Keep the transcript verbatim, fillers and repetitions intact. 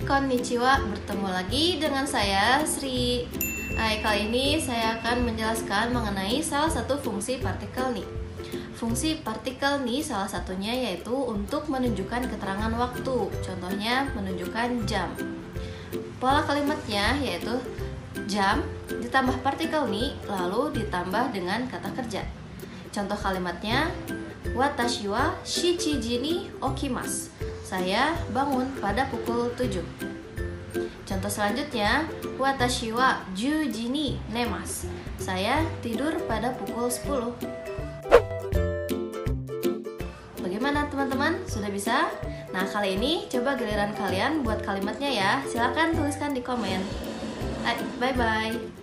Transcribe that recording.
konnichiwa, bertemu lagi dengan saya Sri. Hai, kali ini saya akan menjelaskan mengenai salah satu fungsi partikel nih. Fungsi partikel nih salah satunya yaitu untuk menunjukkan keterangan waktu. Contohnya menunjukkan jam. Pola kalimatnya yaitu jam ditambah partikel nih lalu ditambah dengan kata kerja. Contoh kalimatnya, watashi wa shichiji ni okimasu. Saya bangun pada pukul tujuh. Contoh selanjutnya, watashi wa juji ni nemasu. Saya tidur pada pukul sepuluh. Bagaimana teman-teman? Sudah bisa? Nah, kali ini coba giliran kalian buat kalimatnya ya. Silakan tuliskan di komen. Bye-bye.